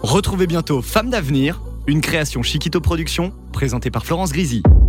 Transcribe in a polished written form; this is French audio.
Retrouvez bientôt Femme d'avenir, une création Chiquito Productions, présentée par Florence Grisi.